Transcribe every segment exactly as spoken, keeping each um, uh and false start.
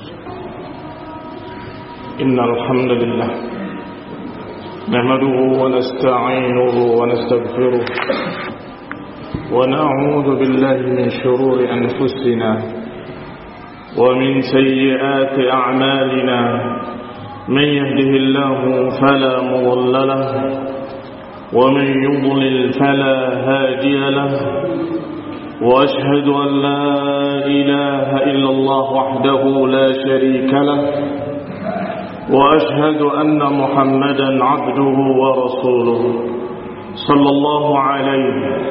إن الحمد لله نحمده ونستعينه ونستغفره ونعوذ بالله من شرور أنفسنا ومن سيئات أعمالنا من يهده الله فلا مضل له ومن يضلل فلا هادي له وأشهد أن لا إله إلا الله وحده لا شريك له وأشهد أن محمدا عبده ورسوله صلى الله عليه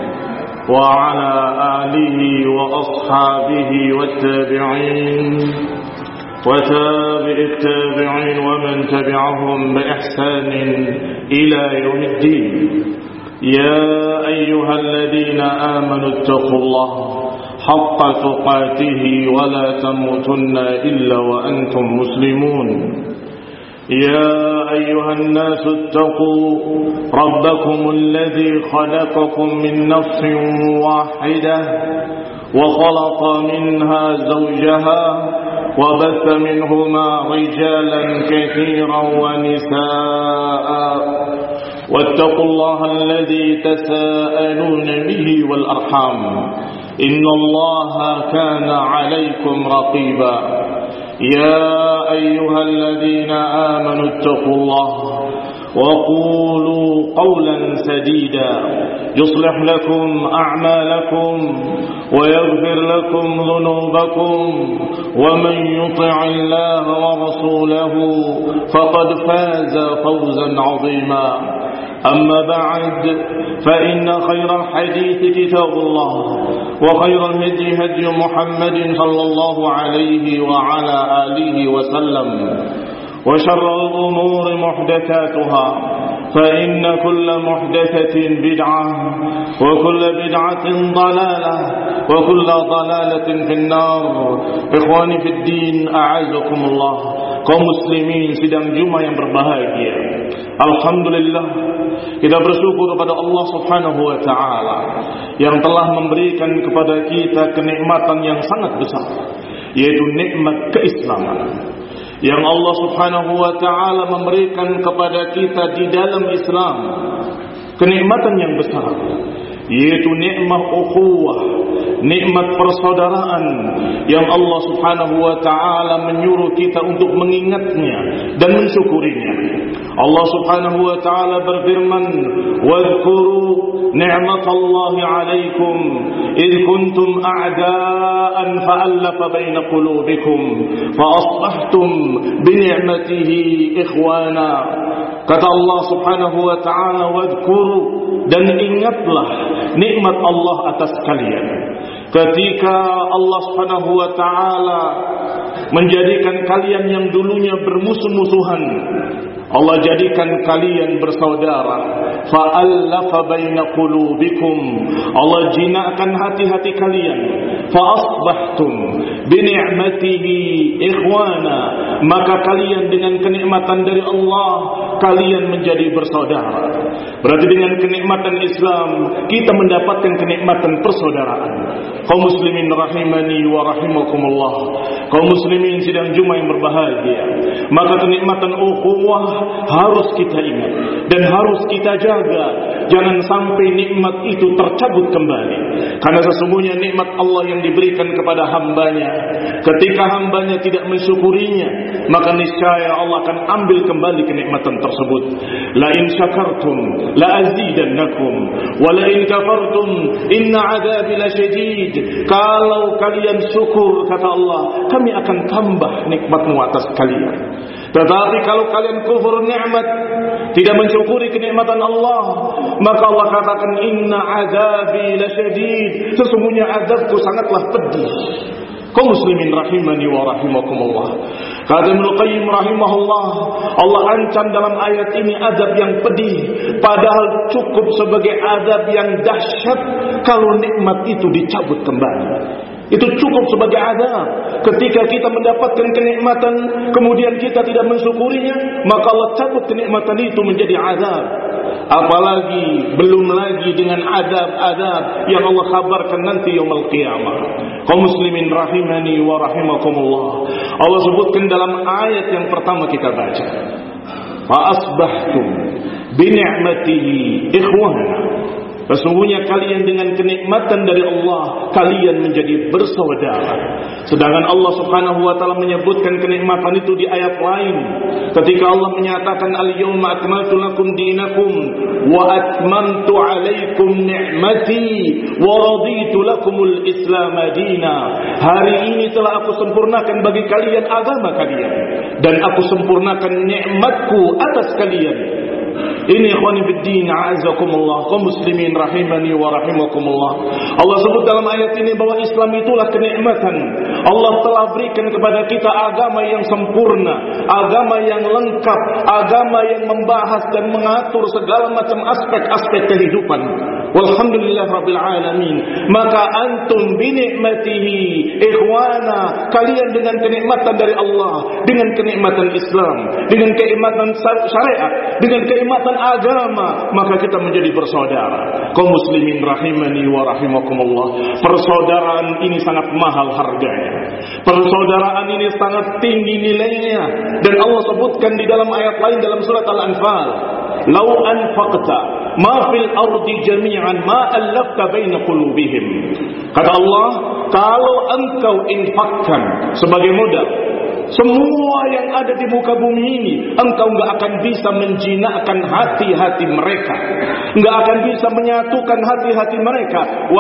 وعلى آله وأصحابه والتابعين وتابع التابعين ومن تبعهم بإحسان إلى يوم الدين. يا أيها الذين آمنوا اتقوا الله حق تقاته ولا تموتن إلا وأنتم مسلمون. يا أيها الناس اتقوا ربكم الذي خلقكم من نفس واحدة وخلق منها زوجها وبث منهما رجالا كثيرا ونساء واتقوا الله الذي تساءلون به والأرحام إن الله كان عليكم رقيبا. يا أيها الذين آمنوا اتقوا الله وقولوا قولا سديدا يصلح لكم أعمالكم ويغفر لكم ذنوبكم ومن يطع الله ورسوله فقد فاز فوزا عظيما. أما بعد فإن خير الحديث كتاب الله وخير الهدي هدي محمد صلى الله عليه وعلى آله وسلم وشر الأمور محدثاتها فإن كل محدثة بدعة وكل بدعة ضلالة وكل ضلالة في النار. Ikhwani fi din, a'azakumullah. Kaum muslimin sidang Jumat yang berbahagia, alhamdulillah kita bersyukur kepada Allah Subhanahu wa taala yang telah memberikan kepada kita kenikmatan yang sangat besar, yaitu nikmat keislaman yang Allah Subhanahu wa taala memberikan kepada kita di dalam Islam. Kenikmatan yang besar, yaitu nikmat ukhuwah, nikmat persaudaraan yang Allah Subhanahu wa taala menyuruh kita untuk mengingatnya dan mensyukurinya. Allah Subhanahu wa taala berfirman, "Wadhkuru ni'matallahi 'alaikum id kuntum a'da'an fa'alafa baina qulubikum fa asbahtum bi ni'matihi ikhwana." Kata Allah Subhanahu wa taala, "Wadhkuru," dan ingatlah nikmat Allah atas kalian ketika Allah Subhanahu wa taala menjadikan kalian yang dulunya bermusuh-musuhan, Allah jadikan kalian bersaudara. Fa'alafa baina qulubikum, Allah jinakkan hati-hati kalian. Fa'asbahtum bi ni'matihi ikhwana, maka kalian dengan kenikmatan dari Allah kalian menjadi bersaudara. Berarti dengan kenikmatan Islam kita mendapatkan kenikmatan persaudaraan. Kaum muslimin rahimani wa rahimakumullah, kaum muslimin sidang Jumat yang berbahagia, maka kenikmatan ukhuwah harus kita ingat dan harus kita jaga. Jangan sampai nikmat itu tercabut kembali, karena sesungguhnya nikmat Allah yang diberikan kepada hambanya, ketika hambanya tidak mensyukurinya, maka niscaya Allah akan ambil kembali kenikmatan tersebut. La in syakartum la azidannakum wa la in kafartum inna adzabi lasyadid. Kalau kalian syukur, kata Allah, kami akan tambah nikmatmu atas kalian. Tetapi kalau kalian kufur nikmat, tidak mensyukuri kenikmatan Allah, maka Allah katakan inna azabi lasyadid, sesungguhnya azabku sangatlah pedih. Kaum muslimin rahimani wa rahimakumullah. Kata Ibnu Qayyim rahimahullah, Allah ancam dalam ayat ini azab yang pedih, padahal cukup sebagai azab yang dahsyat kalau nikmat itu dicabut kembali. Itu cukup sebagai azab. Ketika kita mendapatkan kenikmatan kemudian kita tidak mensyukurinya, maka Allah cabut kenikmatan itu menjadi azab. Apalagi belum lagi dengan azab-azab yang Allah kabarkan nanti yaumul qiyamah. Kaum muslimin rahimani wa rahimakumullah, Allah sebutkan dalam ayat yang pertama kita baca, fa asbahtum bi ni'matihi ikhwana. Sesungguhnya kalian dengan kenikmatan dari Allah kalian menjadi bersaudara. Sedangkan Allah Subhanahu wa taala menyebutkan kenikmatan itu di ayat lain ketika Allah menyatakan al-yauma akmaltu lakum dinakum wa atmamtu 'alaikum ni'mati wa raditu lakumul Islam madina. Hari ini telah aku sempurnakan bagi kalian agama kalian dan aku sempurnakan nikmatku atas kalian. Ini ikhwani fiddin, a'azakumullah, kaum muslimin rahimani wa rahimakumullah. Allah sebut dalam ayat ini bahwa Islam itulah kenikmatan. Allah telah berikan kepada kita agama yang sempurna, agama yang lengkap, agama yang membahas dan mengatur segala macam aspek-aspek kehidupan. Walhamdulillah rabbil alamin. Maka antum binikmatihi ikhwana, kalian dengan kenikmatan dari Allah, dengan kenikmatan Islam, dengan kenikmatan syariat, dengan kenikmatan agama, maka kita menjadi bersaudara. Kaum muslimin rahimani wa rahimakumullah, persaudaraan ini sangat mahal harganya. Persaudaraan ini sangat tinggi nilainya, dan Allah sebutkan di dalam ayat lain dalam surat Al-Anfal, "Lau anfaqta ma fil ardi jami'an ma allafta baina qulubihim." Kata Allah, kalau engkau infakkan sebagai modal semua yang ada di muka bumi ini, engkau enggak akan bisa menjinakkan hati-hati mereka, enggak akan bisa menyatukan hati-hati mereka.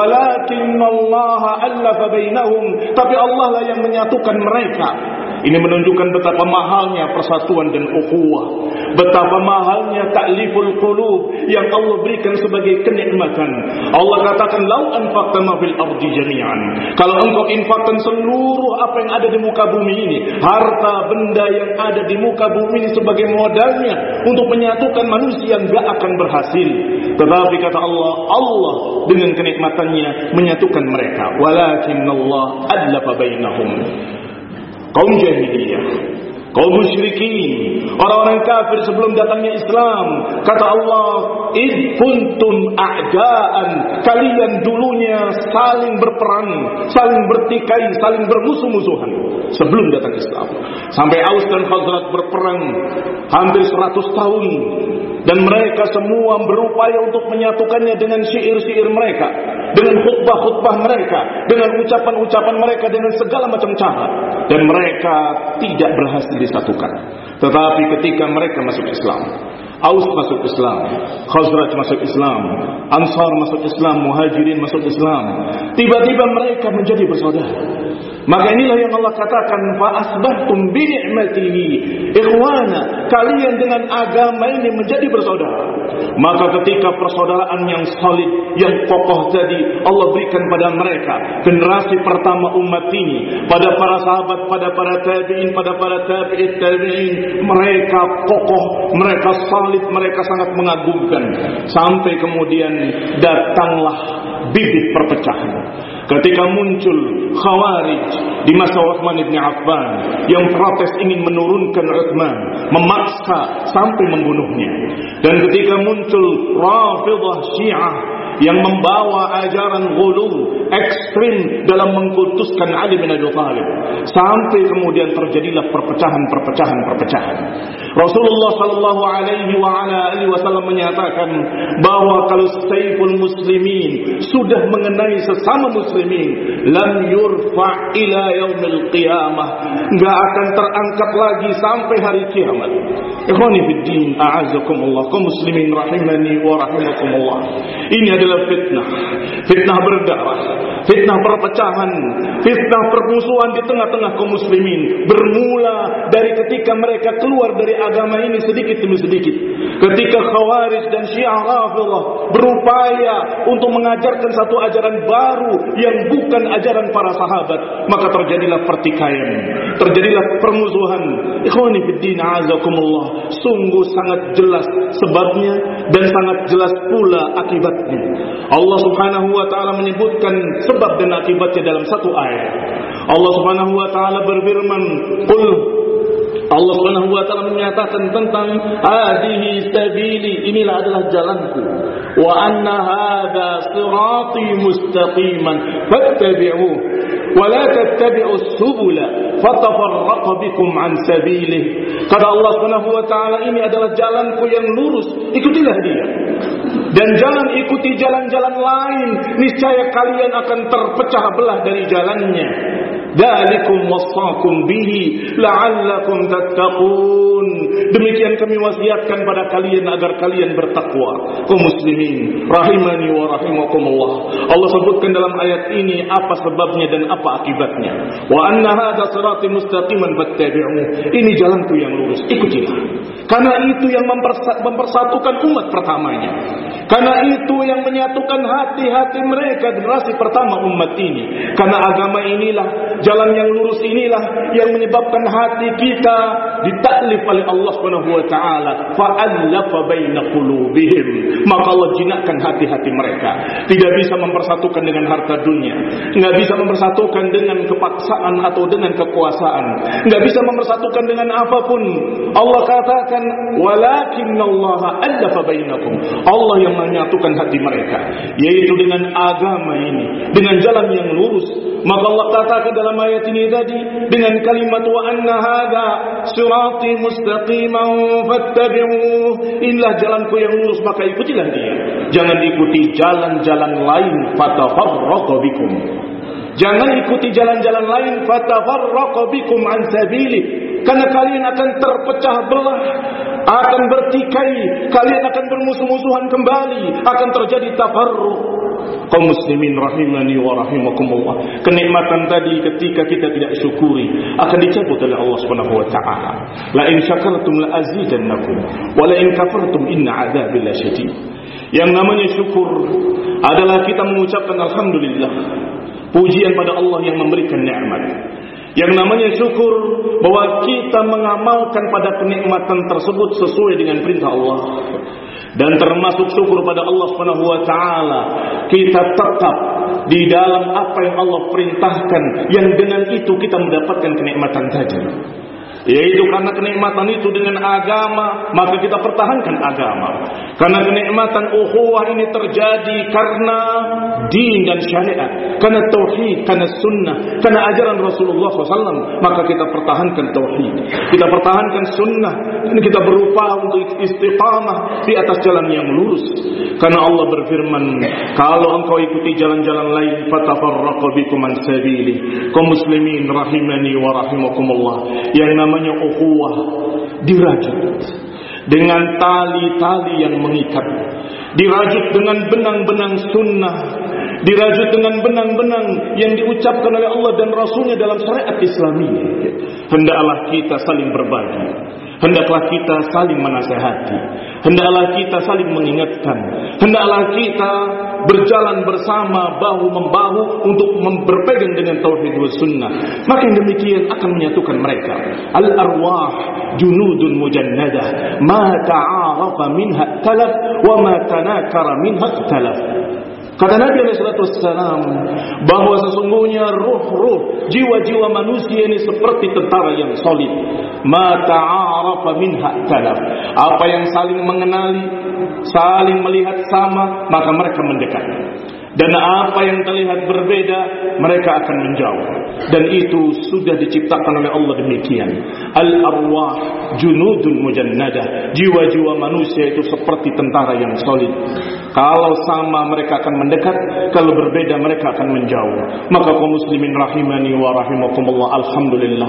Walakinallaha allafa bainahum, tapi Allah lah yang menyatukan mereka. Ini menunjukkan betapa mahalnya persatuan dan ukhuwah, betapa mahalnya ta'liful qulub yang Allah berikan sebagai kenikmatan. Allah katakan, "Lau anfaqta ma fil ardi jami'an." Kalau engkau infakkan seluruh apa yang ada di muka bumi ini, harta benda yang ada di muka bumi ini sebagai modalnya untuk menyatukan manusia, enggak akan berhasil. Tetapi kata Allah, Allah dengan kenikmatannya menyatukan mereka. Walakinallah adlafa bainahum. Kaum jahiliyah, kaum musyrikin, orang-orang kafir sebelum datangnya Islam, kata Allah, "Id kuntum a'daan." Kalian dulunya saling berperang, saling bertikai, saling bermusuh-musuhan sebelum datang Islam. Sampai Aus dan Khazraj berperang hampir seratus tahun, dan mereka semua berupaya untuk menyatukannya dengan syair-syair mereka, dengan khutbah-khutbah mereka, dengan ucapan-ucapan mereka, dengan segala macam cara, dan mereka tidak berhasil disatukan. Tetapi ketika mereka masuk Islam, Aus masuk Islam, Khazraj masuk Islam, Ansar masuk Islam, Muhajirin masuk Islam, tiba-tiba mereka menjadi bersaudara. Maka inilah yang Allah katakan, fa asbahtum bi ni'matihi ikhwana, kalian dengan agama ini menjadi bersaudara. Maka ketika persaudaraan yang solid, yang kokoh tadi Allah berikan pada mereka, generasi pertama umat ini, pada para sahabat, pada para tabi'in, pada para tabi'it tabi'in, mereka kokoh, mereka solid, mereka sangat mengagumkan. Sampai kemudian datanglah bibit perpecahan. Ketika muncul Khawarij di masa Utsman bin Affan yang protes ingin menurunkan Utsman, memaksa sampai membunuhnya. Dan ketika muncul Rafidhah Syiah yang membawa ajaran ghulu ekstrim dalam mengkultuskan Ali bin Abi Thalib, sampai kemudian terjadilah perpecahan-perpecahan perpecahan. Rasulullah sallallahu alaihi wa ala alihi wasallam menyatakan bahwa kalau saiful muslimin sudah mengenai sesama muslimin, lam yurfa ila yaumil qiyamah, enggak akan terangkat lagi sampai hari kiamat. Ikhwani fid din, a'azzakumullah, kaum muslimin rahimani wa rahimakumullah. Ini adalah fitnah, fitnah berdarah, fitnah perpecahan, fitnah permusuhan di tengah-tengah kaum muslimin. Bermula dari ketika mereka keluar dari agama ini sedikit demi sedikit. Ketika Khawarij dan Syiah Rafidhah berupaya untuk mengajarkan satu ajaran baru yang bukan ajaran para sahabat, maka terjadilah pertikaian, terjadilah permusuhan. Ikhwani fid din, a'azakumullah, sungguh sangat jelas sebabnya dan sangat jelas pula akibatnya. Allah Subhanahu wa taala menyebutkan sebab dan akibatnya dalam satu ayat. Allah Subhanahu wa taala berfirman, "Qul" Allah Subhanahu wa taala menyatakan tentang hadhihi sabili, inilah adalah jalanku, wa anna hadza sirati mustaqiman fattabi'uhu wa la tattabi'us subula fatafarraqa bikum an sabilih. Kata Allah Subhanahu wa taala, ini adalah jalanku yang lurus, ikutilah dia. Dan jangan ikuti jalan-jalan lain, niscaya kalian akan terpecah belah dari jalannya. Dzalikum wasaqum bihi la'allakum tattaqun. Demikian kami wasiatkan pada kalian agar kalian bertakwa. Kaum muslimin rahimani wa rahimakumullah. Allah sebutkan dalam ayat ini apa sebabnya dan apa akibatnya. Wa anna hadza sirati mustaqiman fattabi'uhu. Ini jalanku yang lurus, ikutilah. Karena itu yang mempersatukan umat pertamanya. Karena itu yang menyatukan hati-hati mereka generasi pertama umat ini. Karena agama inilah, jalan yang lurus inilah yang menyebabkan hati kita ditaklif oleh Allah Subhanahu wa taala, fa'alafa baina qulubihim. Maka Allah jinakkan hati-hati mereka. Tidak bisa mempersatukan dengan harta dunia, enggak bisa mempersatukan dengan kepaksaan atau dengan kekuasaan, enggak bisa mempersatukan dengan apapun. Allah katakan, walakinnallaha alafa bainakum. Allah yang menyatukan hati mereka, yaitu dengan agama ini, dengan jalan yang lurus. Maka Allah katakan dalam ayat ini tadi dengan kalimat wa anna hadza sirati mustaqiman fattabi'uhu. Inilah jalanku yang lurus, maka ikutilah dia. Jangan ikuti jalan-jalan lain, fatafarraqa bikum. Jangan ikuti jalan-jalan lain, fatafarraqa bikum an sabilih. Karena kalian akan terpecah belah, akan bertikai, kalian akan bermusuh-musuhan kembali, akan terjadi tafarruq. Kaum muslimin rahimani wa rahimakumullah. Kenikmatan tadi ketika kita tidak syukuri akan dicabut oleh Allah Subhanahu wa taala. La in syakartum la azidannakum wa la in kafartum inna adzabi lasyadid. Yang namanya syukur adalah kita mengucapkan alhamdulillah, pujian pada Allah yang memberikan nikmat. Yang namanya syukur bahwa kita mengamalkan pada kenikmatan tersebut sesuai dengan perintah Allah. Dan termasuk syukur pada Allah Subhanahu wa taala, kita tetap di dalam apa yang Allah perintahkan, yang dengan itu kita mendapatkan kenikmatan tadi. Yaitu karena kenikmatan itu dengan agama, maka kita pertahankan agama. Karena kenikmatan ukhuwah ini terjadi karena din dan syariat, karena tauhid, karena sunnah, karena ajaran Rasulullah shallallahu alaihi wasallam, maka kita pertahankan tauhid, kita pertahankan sunnah, dan kita berupaya untuk istiqamah di atas jalan yang lurus. Karena Allah berfirman, kalau engkau ikuti jalan-jalan lain, fatafarraqa bikum an sabili. Kaum muslimin rahimani wa rahimakumullah. Yang namanya ukhuwah dirajut dengan tali-tali yang mengikat, dirajut dengan benang-benang sunnah, dirajut dengan benang-benang yang diucapkan oleh Allah dan Rasulnya dalam syariat Islami. Hendaklah kita saling berbagi, hendaklah kita saling menasihati, hendaklah kita saling mengingatkan, hendaklah kita berjalan bersama bahu-membahu untuk berpegang dengan tauhid wa sunnah. Maka yang demikian akan menyatukan mereka. Al-arwah junudun mujannadah, ma ta'arafa minha talaf wa ma tanakara minha talaf. Kata Nabi alaihi salatu wassalam bahwa sesungguhnya ruh-ruh, jiwa-jiwa manusia ini seperti tentara yang solid. Ma ta'arafa minha talaf. Apa yang saling mengenali, saling melihat sama, maka mereka mendekat. Dan apa yang terlihat berbeda, mereka akan menjauh. Dan itu sudah diciptakan oleh Allah demikian. Al-arwah junudun mujannadah. Jiwa-jiwa manusia itu seperti tentara yang solid. Kalau sama mereka akan mendekat, kalau berbeda mereka akan menjauh. Maka kaum muslimin rahimani wa rahimakumullah, alhamdulillah,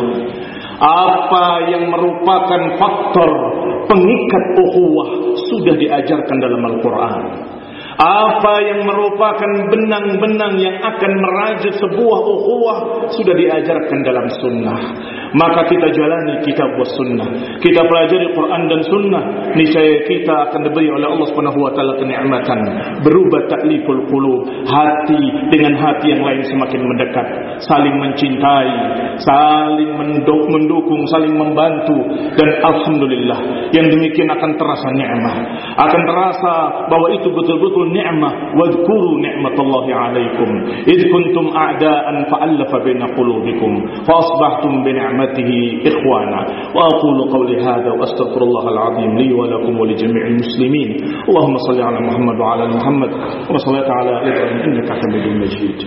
apa yang merupakan faktor pengikat ukhuwah sudah diajarkan dalam Al-Quran. Apa yang merupakan benang-benang yang akan merajut sebuah ukhuwah sudah diajarkan dalam sunnah. maka kita jalani kitab was sunnah, kita pelajari Quran dan sunnah, niscaya kita akan diberi oleh Allah Subhanahu wa taala kenikmatan berubah ta'liful qulub, hati dengan hati yang lain semakin mendekat, saling mencintai, saling mendukung, saling membantu, dan alhamdulillah yang demikian akan terasa nikmat, akan terasa bahwa itu betul-betul nikmat. Wadhkuru ni'matallahi 'alaikum id kuntum a'daan fa'alafa baina qulubikum fa asbahtum bi ni'matihi ikhwana. Wa aqulu qawli hadha wa astaghfirullahal 'azim li wa lakum wa li jami'il muslimin. Allahumma shalli 'ala Muhammad wa 'ala Muhammad wa salli 'ala Ibrahim innaka Hamidum Majid.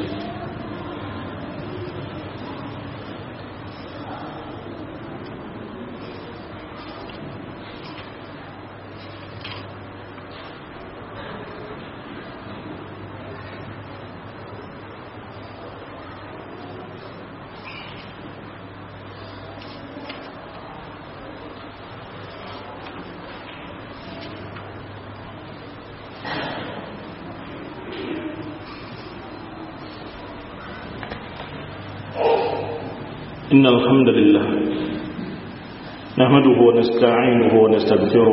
إن الحمد لله نحمده ونستعينه ونستغفره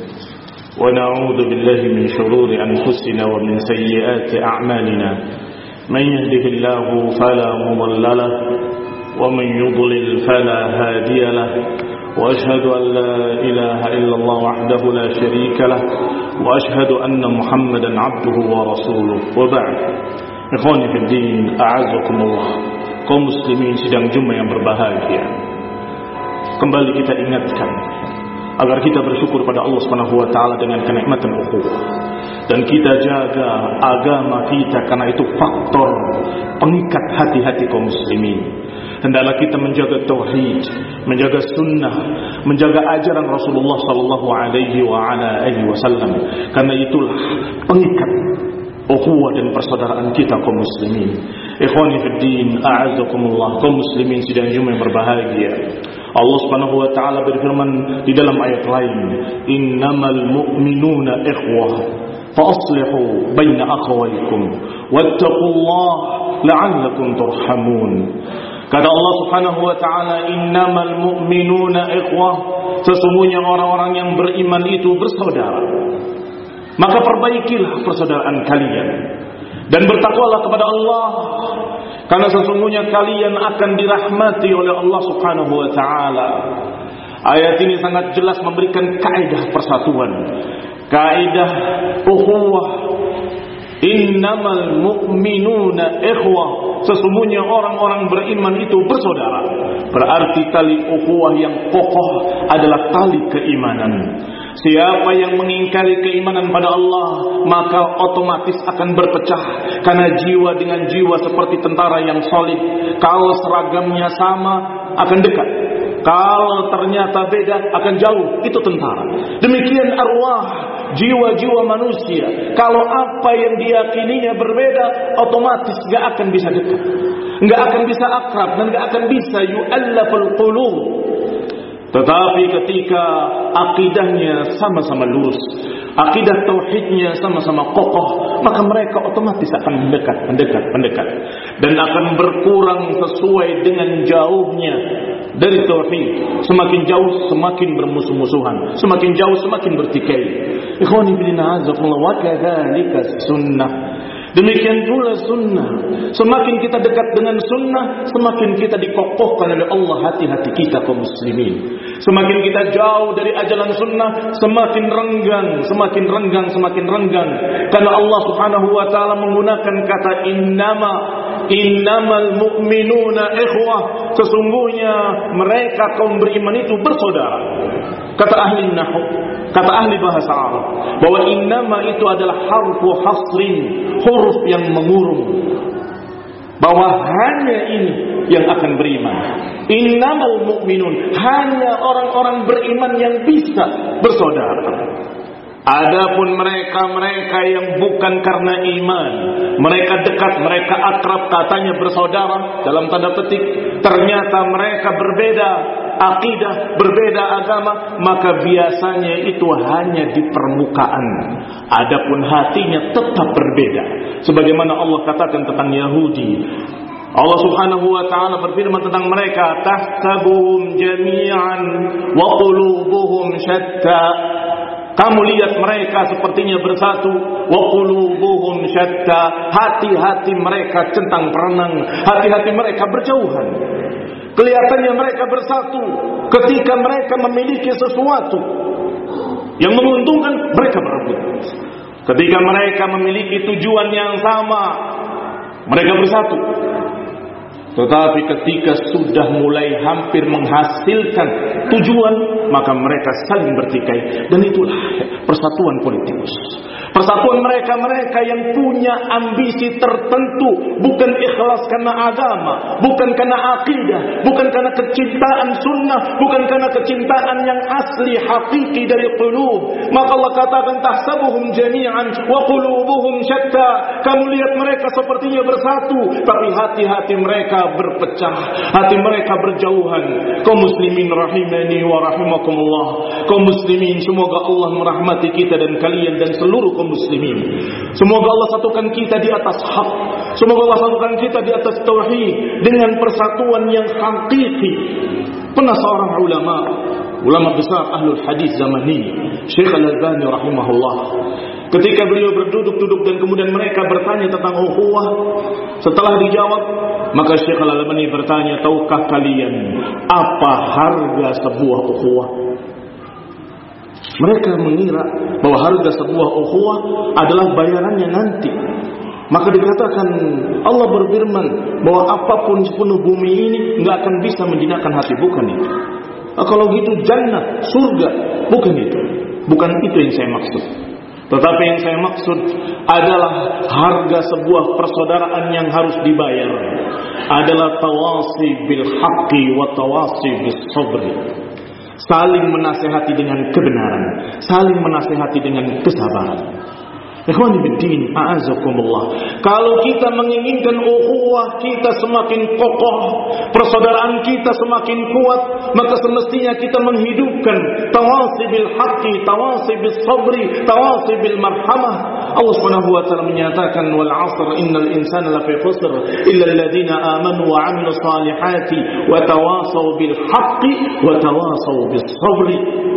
ونعوذ بالله من شرور أنفسنا ومن سيئات أعمالنا من يهده الله فلا مضل له ومن يضلل فلا هادي له وأشهد أن لا إله إلا الله وحده لا شريك له وأشهد أن محمدا عبده ورسوله وبعد. إخواني في الدين أعزكم الله. Kaum muslimin sidang Jumat yang berbahagia, kembali kita ingatkan agar kita bersyukur pada Allah Subhanahu wa taala dengan kenikmatan ukhuwah, dan kita jaga agama kita karena itu faktor pengikat hati-hati kaum muslimin. Hendaklah kita menjaga tauhid, menjaga sunnah, menjaga ajaran Rasulullah sallallahu alaihi wa ala alihi wasallam, karena itulah pengikat ukhuwah dan persaudaraan kita kaum muslimin. Ikhwani fid din, a'azzakumullah, kaum muslimin sidang Jumat yang berbahagia. Allah Subhanahu wa taala berfirman di dalam ayat lain, "Innamal mu'minuna ikhwah, fa aslihu baina akhawaykum wattaqullaha la'allakum turhamun." Kata Allah Subhanahu wa taala, "Innamal mu'minuna ikhwah," sesungguhnya orang-orang yang beriman itu bersaudara. Maka perbaikilah persaudaraan kalian dan bertakwalah kepada Allah, karena sesungguhnya kalian akan dirahmati oleh Allah Subhanahu wa taala. Ayat ini sangat jelas memberikan kaidah persatuan, kaidah ukhuwah. Innamal mu'minuna ikhwah, sesungguhnya orang-orang beriman itu bersaudara. Berarti tali ukhuwah yang kokoh adalah tali keimanan. Siapa yang mengingkari keimanan pada Allah, maka otomatis akan berpecah, karena jiwa dengan jiwa seperti tentara yang solid. Kalau seragamnya sama akan dekat, kalau ternyata beda akan jauh. Itu tentara. Demikian arwah, jiwa-jiwa manusia, kalau apa yang diyakininya berbeda, otomatis gak akan bisa dekat, gak akan bisa akrab, dan gak akan bisa yu'allaful qulub. Tetapi ketika akidahnya sama-sama lurus, akidah tauhidnya sama-sama kokoh, maka mereka otomatis akan mendekat, mendekat, mendekat, dan akan berkurang sesuai dengan jauhnya dari tauhid. Semakin jauh semakin bermusuh-musuhan, semakin jauh semakin bertikai. Ikhwani fillah, azakumullah, wa kadzalika sunnah. Demikian pula sunnah. Semakin kita dekat dengan sunnah, semakin kita dikokohkan oleh Allah hati-hati kita kaum muslimin. Semakin kita jauh dari ajaran sunnah, semakin renggang, semakin renggang, semakin renggang. Karena Allah Subhanahu wa taala menggunakan kata innama, innamal mu'minuna ikhwah, sesungguhnya mereka kaum beriman itu bersaudara. Kata ahli nahwu, kata ahli bahasa Arab, bahwa innama itu adalah harfu hasrin, huruf yang mengurung, bahwa hanya ini yang akan beriman. Innamal mu'minun, hanya orang-orang beriman yang bisa bersaudara. Adapun mereka-mereka yang bukan karena iman, mereka dekat, mereka akrab, katanya bersaudara dalam tanda petik, ternyata mereka berbeda akidah, berbeda agama, maka biasanya itu hanya di permukaan. Adapun hatinya tetap berbeda. Sebagaimana Allah katakan tentang Yahudi, Allah Subhanahu wa taala berfirman tentang mereka, tahsabuhum jami'an wa qulubuhum syatta. Kamu lihat mereka sepertinya bersatu, wa qulubuhum syatta. Hati-hati mereka centang perenang, hati-hati mereka berjauhan. Kelihatannya mereka bersatu ketika mereka memiliki sesuatu yang menguntungkan, mereka berebut. Ketika mereka memiliki tujuan yang sama, mereka bersatu. Tetapi ketika sudah mulai hampir menghasilkan tujuan, maka mereka saling bertikai. Dan itulah persatuan politikus. Persatuan mereka-mereka yang punya ambisi tertentu, bukan ikhlas karena agama, bukan karena akidah, bukan karena kecintaan sunnah, bukan karena kecintaan yang asli hakiki dari qulub. Maka Allah katakan tahsabuhum jami'an wa qulubuhum syatta. Kamu lihat mereka sepertinya bersatu, tapi hati-hati mereka berpecah, hati mereka berjauhan. Kaum muslimin rahimani wa rahimakumullah. Kaum muslimin, semoga Allah merahmati kita dan kalian dan seluruh kaum muslimin. Semoga Allah satukan kita di atas hak. Semoga Allah satukan kita di atas tauhid dengan persatuan yang hakiki. Pernah seorang ulama, ulama besar ahlul hadis zaman ini, Syekh Al-Albani rahimahullah, ketika beliau berduduk-duduk dan kemudian mereka bertanya tentang ukhuwah, setelah dijawab, maka Syekh Al-Albani bertanya, tahukah kalian apa harga sebuah ukhuwah? Mereka mengira bahwa harga sebuah ukhuwah adalah bayarannya nanti. Maka dikatakan, Allah berfirman bahwa apapun sepenuh bumi ini enggak akan bisa menjinakkan hati. Bukan itu. Nah, kalau gitu jannah, surga, bukan itu. Bukan itu yang saya maksud. Tetapi yang saya maksud adalah harga sebuah persaudaraan yang harus dibayar adalah tawasi bil haqqi wa tawasi bis sabri. Saling menasihati dengan kebenaran, saling menasihati dengan kesabaran. Ikhwani fiddin, a'azakumullah. Kalau kita menginginkan ukhuwah kita semakin kokoh, persaudaraan kita semakin kuat, maka semestinya kita menghidupkan tawasi bil haqqi, tawasi bis sabri, tawasi bil marhamah. Allah Subhanahu wa taala menyatakan, wal 'asr innal insana lafi khusr illa alladziina aamanu wa 'amilus salihati wa tawasaw bil haqqi wa tawasaw bis sabri.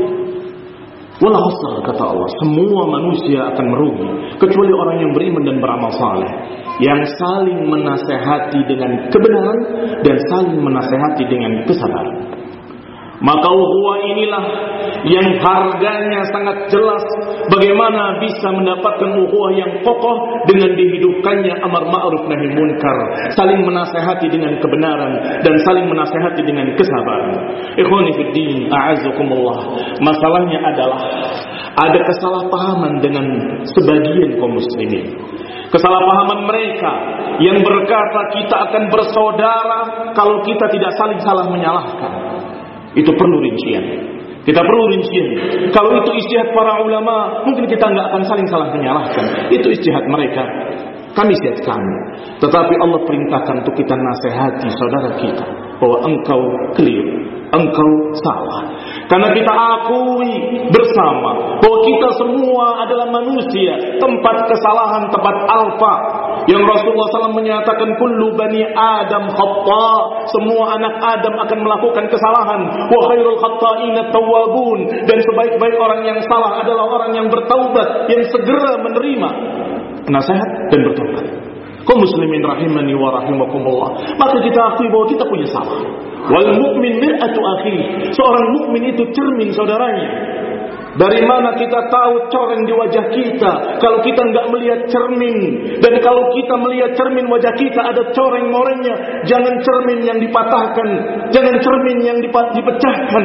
Wal 'asr, kata Allah, semua manusia akan merugi kecuali orang yang beriman dan beramal saleh, yang saling menasehati dengan kebenaran dan saling menasehati dengan kesabaran. Maka ukhuwah inilah yang harganya sangat jelas. Bagaimana bisa mendapatkan ukhuwah yang kokoh dengan dihidupkannya amar ma'ruf nahi munkar, saling menasehati dengan kebenaran dan saling menasehati dengan kesabaran. Ikhwani fiddin, a'azzakumullah. Masalahnya adalah ada kesalahpahaman dengan sebagian kaum muslimin. Kesalahpahaman mereka yang berkata kita akan bersaudara kalau kita tidak saling salah menyalahkan. Itu perlu rincian. Kita perlu rincian. Kalau itu ijtihad para ulama, mungkin kita nggak akan saling salah menyalahkan. Itu ijtihad mereka. Kami ijtihad kami. Tetapi Allah perintahkan untuk kita nasihati saudara kita bahwa engkau keliru, engkau salah. Karena kita akui bersama bahwa kita semua adalah manusia, tempat kesalahan, tempat alfa. Yang Rasulullah shallallahu alaihi wasallam menyatakan, kullu bani Adam khata, semua anak Adam akan melakukan kesalahan. Wa khairul khata'ina tawwabun, dan sebaik-baik orang yang salah adalah orang yang bertaubat, yang segera menerima nasihat dan bertaubat. Kaum muslimin rahimani wa rahimakumullah. Maka kita akui bahwa kita punya salah. Wal mu'min mir'atu akhi, seorang mukmin itu cermin saudaranya. Dari mana kita tahu coreng di wajah kita kalau kita enggak melihat cermin? Dan kalau kita melihat cermin wajah kita ada coreng-morengnya, jangan cermin yang dipatahkan, jangan cermin yang dipecahkan.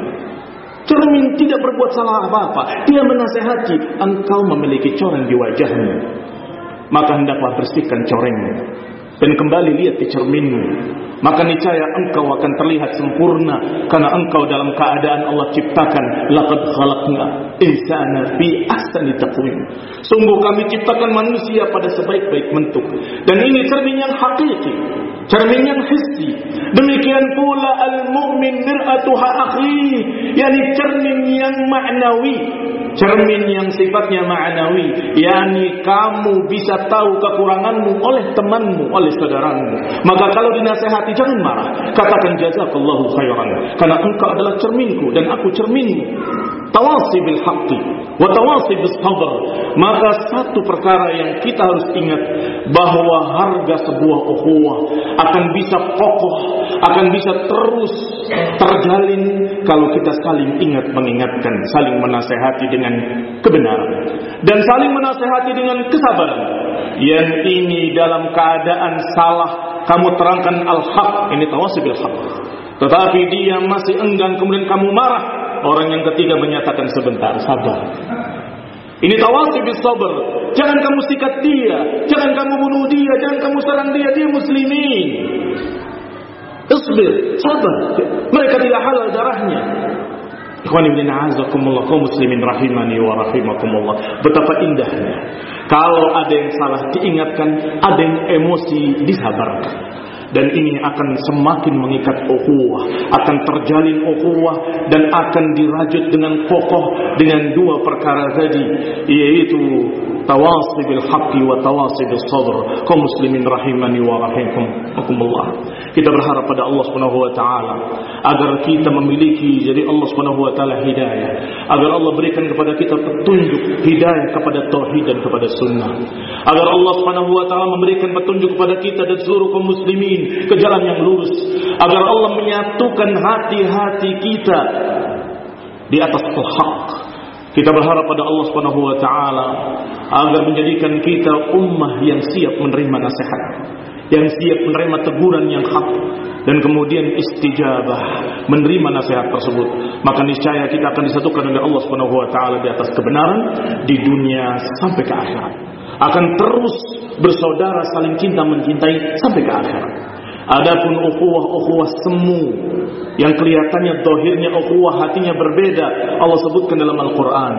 Cermin tidak berbuat salah apa-apa, dia menasehati, engkau memiliki coreng di wajahmu, maka hendaklah bersihkan corengmu dan kembali lihat di cerminmu. Maka niscaya engkau akan terlihat sempurna, karena engkau dalam keadaan Allah ciptakan, laqad khalaqna insana fi ahsani taqwim. Sungguh kami ciptakan manusia pada sebaik-baik bentuk. Dan ini cermin yang hakiki, cermin yang hissi. Demikian pula al-mu'min mir'atuha akhi, yakni cermin yang maknawi, cermin yang sifatnya ma'nawi, yakni kamu bisa tahu kekuranganmu oleh temanmu, oleh saudaramu. Maka kalau dinasihati jangan marah, katakan jazakallahu khairan, karena engkau adalah cerminku dan aku cerminmu. Tawasi bil haqqi wa tawasi bis sabr. Maka satu perkara yang kita harus ingat, bahwa harga sebuah ukhuwah akan bisa kokoh, akan bisa terus terjalin kalau kita saling ingat mengingatkan, saling menasehati dengan kebenaran dan saling menasehati dengan kesabaran. Yang ini dalam keadaan salah kamu terangkan al-haq, ini tawasi bil haq, tetapi dia masih enggan kemudian kamu marah, orang yang ketiga menyatakan sebentar, sabar. Ini tawasi bis sabr. Jangan kamu sikat dia, jangan kamu bunuh dia, jangan kamu serang dia, dia muslimin. Isbir, sabar. Mereka tidak halal darahnya. Ikhwani bin a'azakumullah, kaum muslimin rahimani wa rahimakumullah. Betapa indahnya kalau ada yang salah diingatkan, ada yang emosi disabarkan. Dan ini akan semakin mengikat ukhuwah, akan terjalin ukhuwah dan akan dirajut dengan kokoh dengan dua perkara tadi, yaitu tawasi bil haqqi wa tawasi bis sabr. Kaum muslimin rahimani wa rahimakumullah. Kita berharap pada Allah Subhanahu wa taala agar kita memiliki jadi Allah Subhanahu wa taala hidayah, agar Allah berikan kepada kita petunjuk hidayah kepada tauhid dan kepada sunnah, agar Allah Subhanahu wa taala memberikan petunjuk kepada kita dan seluruh kaum muslimin ke jalan yang lurus, agar Allah menyatukan hati-hati kita di atas al-haq. Kita berharap pada Allah Subhanahu wa taala agar menjadikan kita ummah yang siap menerima nasihat, yang siap menerima teguran yang hak, dan kemudian istijabah menerima nasihat tersebut. Maka niscaya kita akan disatukan oleh Allah Subhanahu wa taala di atas kebenaran di dunia sampai ke akhirat. Akan terus bersaudara, saling cinta mencintai sampai ke akhirat. Adapun ukhuwah-ukhuwah semu yang kelihatannya zahirnya ukhuwah, hatinya berbeda, Allah sebutkan dalam Al-Qur'an,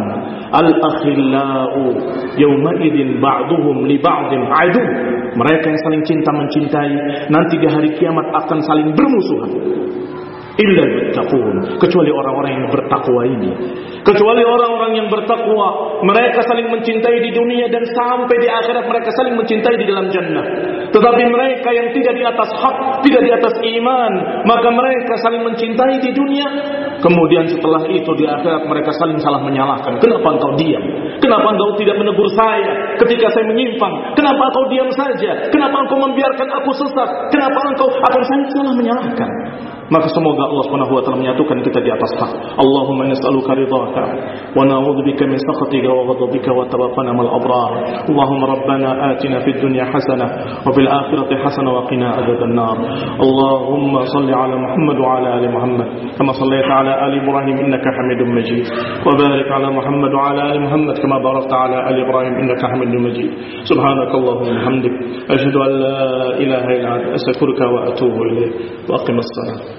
al-akhillau yawma idzin ba'duhum li ba'din adu. Mereka yang saling cinta mencintai nanti di hari kiamat akan saling bermusuhan. Illa yattaqun, kecuali orang-orang yang bertakwa ini. Kecuali orang-orang yang bertakwa, mereka saling mencintai di dunia dan sampai di akhirat mereka saling mencintai di dalam jannah. Tetapi mereka yang tidak di atas hak, tidak di atas iman, maka mereka saling mencintai di dunia, kemudian setelah itu di akhirat mereka saling salah menyalahkan. Kenapa engkau diam? Kenapa engkau tidak menegur saya ketika saya menyimpang? Kenapa engkau diam saja? Kenapa engkau membiarkan aku sesat? Kenapa engkau akan saya salah menyalahkan? Maka semoga Allah Subhanahu wa taala menyatukan kita di atas hak. Allahumma nas'aluka ridhaka wa na'udzubika min sakhatika wa ghadabika wa tawaffana mal abrar. Allahumma rabbana atina fid dunya hasanah wa fil akhirati hasanah wa qina adzaban nar. Allahumma shalli ala Muhammad wa ala ali Muhammad kama shallaita ala ali Ibrahim innaka Hamidum Majid. Wa barik ala Muhammad wa ala ali Muhammad kama barakta ala ali Ibrahim innaka Hamidum Majid. Subhanakallahumma wa bihamdik asyhadu an la ilaha illa anta astaghfiruka wa atubu ilaik. Wa aqimus salat.